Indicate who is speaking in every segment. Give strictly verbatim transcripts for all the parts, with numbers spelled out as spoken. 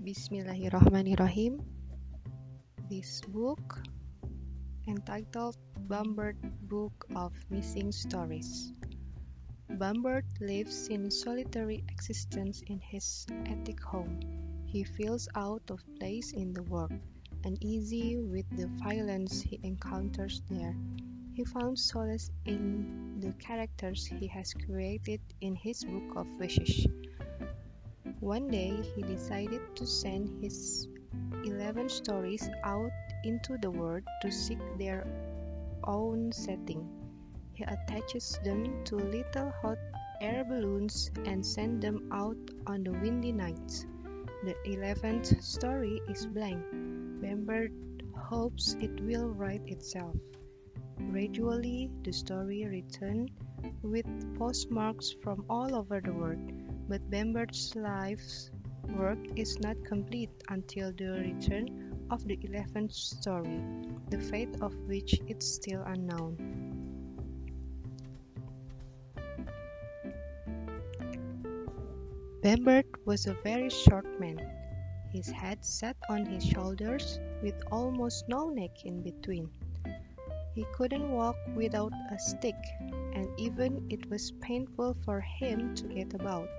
Speaker 1: Bismillahirrahmanirrahim. This book, entitled Bambert Book of Missing Stories. Bambert lives in solitary existence in his attic home. He feels out of place in the world, uneasy with the violence he encounters there. He found solace in the characters he has created in his book of wishes. One day, he decided to send his eleven stories out into the world to seek their own setting. He attaches them to little hot air balloons and sends them out on the windy nights. The eleventh story is blank. Bambert hopes it will write itself. Gradually, the story returns with postmarks from all over the world. But Bambert's life's work is not complete until the return of the eleventh story, the fate of which is still unknown. Bambert was a very short man. His head sat on his shoulders with almost no neck in between. He couldn't walk without a stick, and even it was painful for him to get about.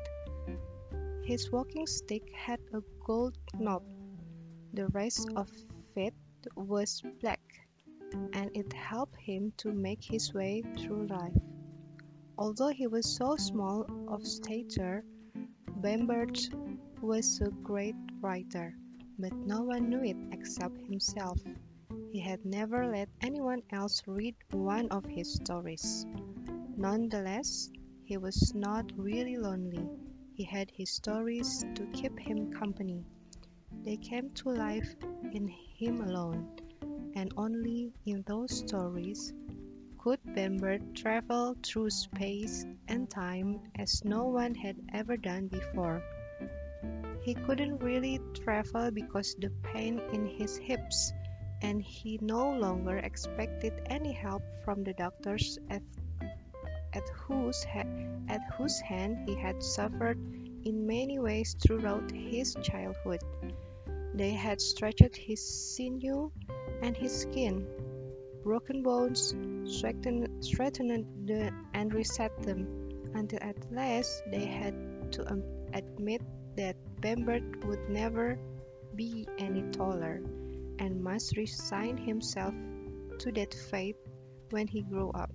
Speaker 1: His walking stick had a gold knob. The rest of it was black, and it helped him to make his way through life. Although he was so small of stature, Bambert was a great writer, but no one knew it except himself. He had never let anyone else read one of his stories. Nonetheless, he was not really lonely. He had his stories to keep him company. They came to life in him alone, and only in those stories could Bambert travel through space and time as no one had ever done before. He couldn't really travel because the pain in his hips, and he no longer expected any help from the doctors at At whose, ha- at whose hand he had suffered in many ways throughout his childhood. They had stretched his sinew and his skin, broken bones, strengthened, strengthened the, and reset them, until at last they had to um, admit that Bambert would never be any taller, and must resign himself to that fate when he grew up.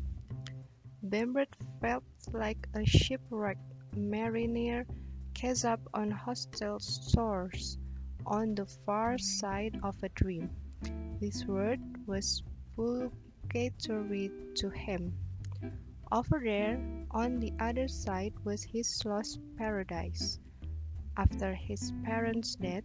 Speaker 1: Bambert felt like a shipwrecked mariner cast up on hostile shores on the far side of a dream. This word was purgatory to him. Over there, on the other side, was his lost paradise. After his parents' death,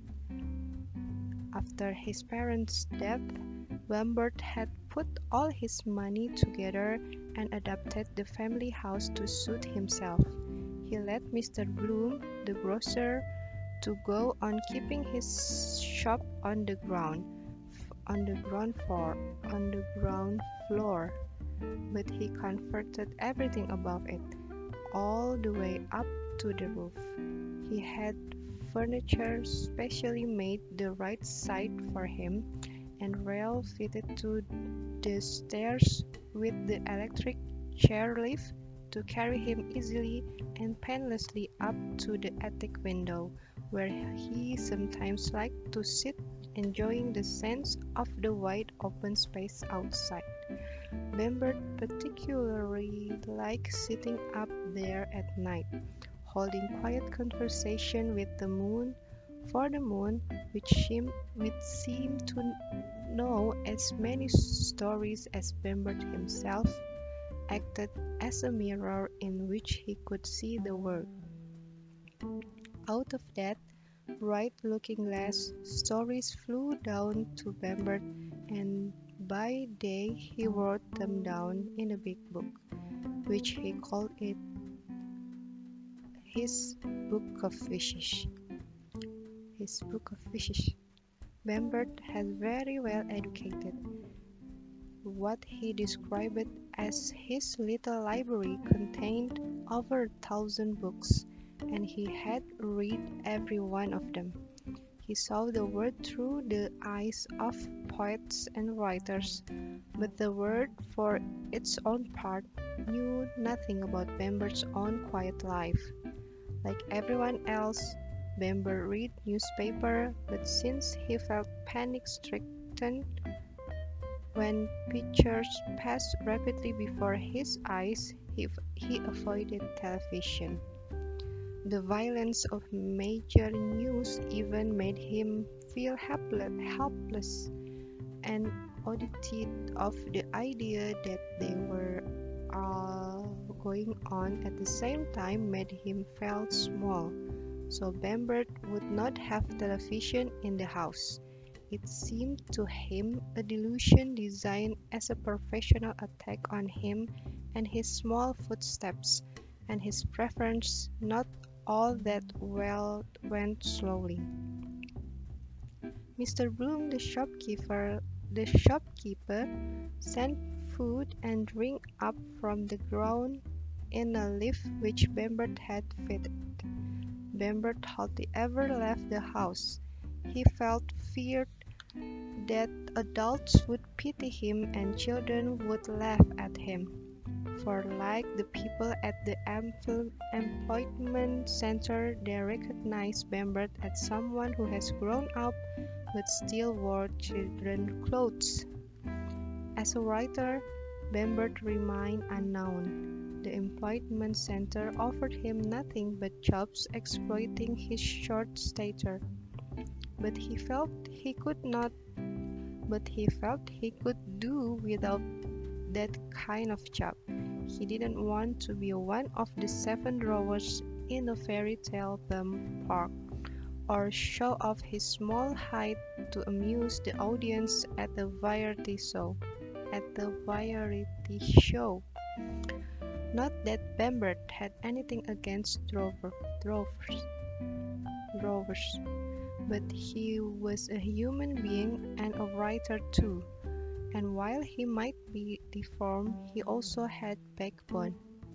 Speaker 1: after his parents' death, Bambert had put all his money together and adapted the family house to suit himself. He let Mister Bloom, the grocer, to go on keeping his shop on the ground, on the ground floor, on the ground floor. But he converted everything above it, all the way up to the roof. He had furniture specially made the right side for him, and rail fitted to the stairs with the electric chairlift to carry him easily and painlessly up to the attic window, where he sometimes liked to sit enjoying the sense of the wide open space outside. Bambert particularly liked sitting up there at night, holding quiet conversation with the moon, for the moon, which seemed, which seemed to know as many stories as Bambert himself, acted as a mirror in which he could see the world. Out of that bright-looking glass, stories flew down to Bambert, and by day he wrote them down in a big book, which he called it his Book of Wishes. His Book of Wishes. Bambert has very well educated. What he described as his little library contained over a thousand books, and he had read every one of them. He saw the world through the eyes of poets and writers, but the world, for its own part, knew nothing about Bambert's own quiet life. Like everyone else, Bambert read newspaper, but since he felt panic-stricken when pictures passed rapidly before his eyes, he, he avoided television. The violence of major news even made him feel helpless, helpless, and oddity of the idea that they were all going on at the same time made him feel small. So Bambert would not have television in the house. It seemed to him a delusion designed as a professional attack on him and his small footsteps, and his preference. Not all that well went slowly. Mister Bloom, the shopkeeper, the shopkeeper, sent food and drink up from the ground in a lift which Bambert had fitted. Bambert hardly ever left the house. He felt feared that adults would pity him and children would laugh at him. For like the people at the employment center, they recognize Bambert as someone who has grown up but still wore children's clothes. As a writer, Bambert remained unknown. The employment center offered him nothing but jobs exploiting his short stature. But he felt he could not but he felt he could do without that kind of job. He didn't want to be one of the seven rowers in a fairy tale theme park, or show off his small height to amuse the audience at the variety show. At the variety show. Not that Bambert had anything against drover, drovers, drovers, but he was a human being and a writer too, and while he might be deformed, he also had backbone.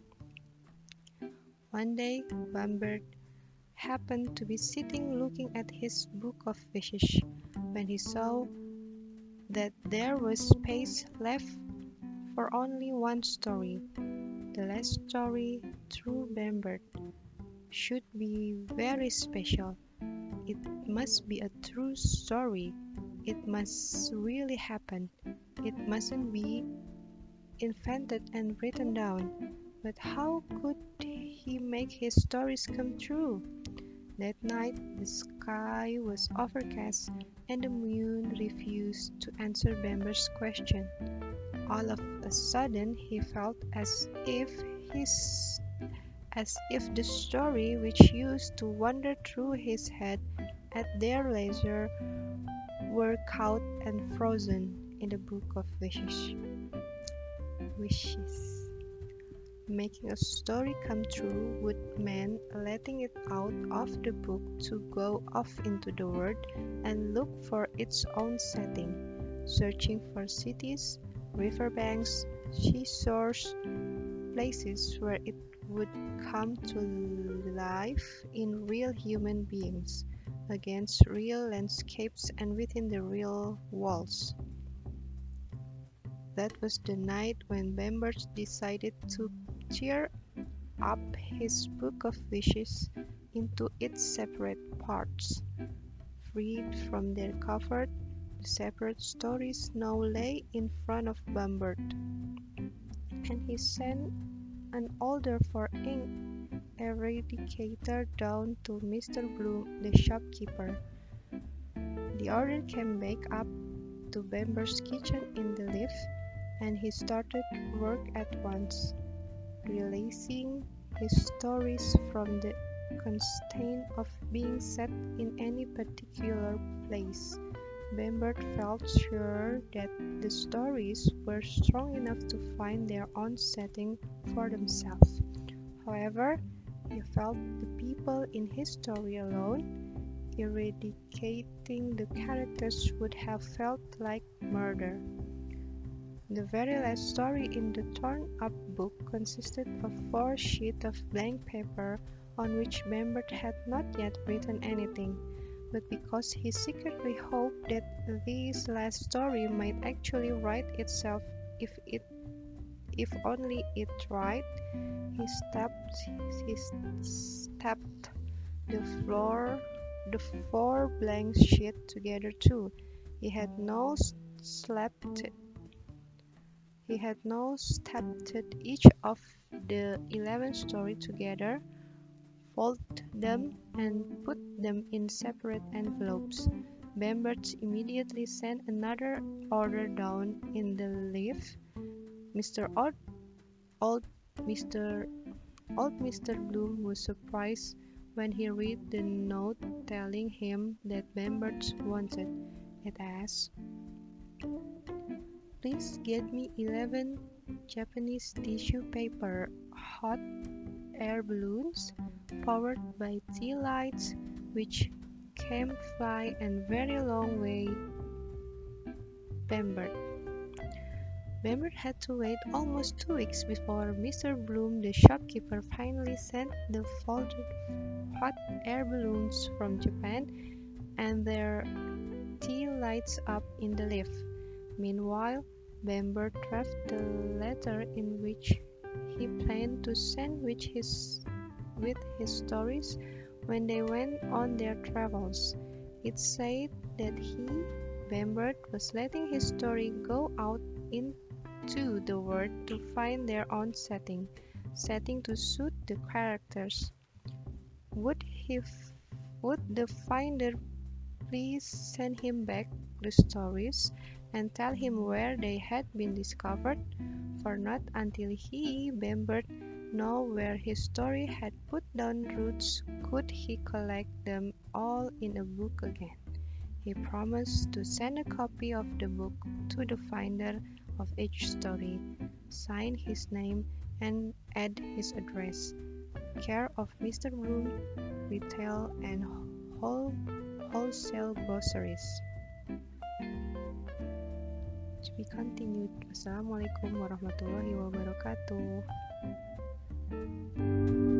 Speaker 1: One day, Bambert happened to be sitting looking at his book of wishes, when he saw that there was space left for only one story. The last story, through Bambert, should be very special. It must be a true story. It must really happen. It mustn't be invented and written down. But how could he make his stories come true? That night the sky was overcast and the moon refused to answer Bambert's question. All of a sudden he felt as if his as if the story which used to wander through his head at their leisure were caught and frozen in the book of wishes. Wishes. Making a story come true would mean letting it out of the book to go off into the world and look for its own setting, searching for cities, riverbanks, seashores, places where it would come to life in real human beings, against real landscapes and within the real walls. That was the night when Bambert decided to tear up his book of wishes into its separate parts. Freed from their cover, the separate stories now lay in front of Bambert, and he sent an order for ink eradicator down to Mister Bloom, the shopkeeper. The order came back up to Bambert's kitchen in the lift, and he started work at once, releasing his stories from the constraint of being set in any particular place. Bambert felt sure that the stories were strong enough to find their own setting for themselves. However, he felt the people in his story alone, eradicating the characters, would have felt like murder. The very last story in the torn-up book consisted of four sheets of blank paper on which Bambert had not yet written anything. but because he secretly hoped that this last story might actually write itself if it if only it tried. He stepped he stepped the floor the four blank sheets together too. He had no slapped he had now stapled each of the eleven stories together, folded them, and put them in separate envelopes. Bamberg immediately sent another order down in the lift. Mister Old, old Mister Old Mister Bloom was surprised when he read the note telling him that Bamberg wanted. It asked, "Please get me eleven Japanese tissue paper hot air balloons powered by tea lights which can fly a very long way." Bamberg. Bamberg had to wait almost two weeks before Mister Bloom, the shopkeeper, finally sent the folded hot air balloons from Japan and their tea lights up in the lift. Meanwhile, Bamberg drafted the letter in which he planned to sandwich his with his stories when they went on their travels. It said that he, Bamberg, was letting his story go out into the world to find their own setting, setting to suit the characters. Would he, f- would the finder please send him back the stories and tell him where they had been discovered? For not until he, Bamberg, know where his story had put down roots could he collect them all in a book again. He promised to send a copy of the book to the finder of each story, sign his name, and add his address. Care of Mister Bloom, Retail and whole, Wholesale Groceries. To be continued. Wassalamualaikum warahmatullahi wabarakatuh.